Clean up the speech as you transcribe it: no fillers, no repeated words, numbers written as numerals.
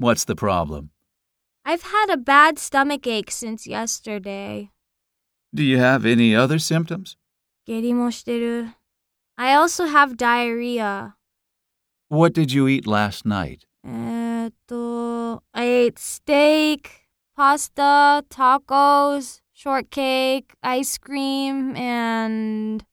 What's the problem? I've had a bad stomach ache since yesterday. Do you have any other symptoms? 下痢もしてる. I also have diarrhea. What did you eat last night? I ate steak, pasta, tacos, shortcake, ice cream, and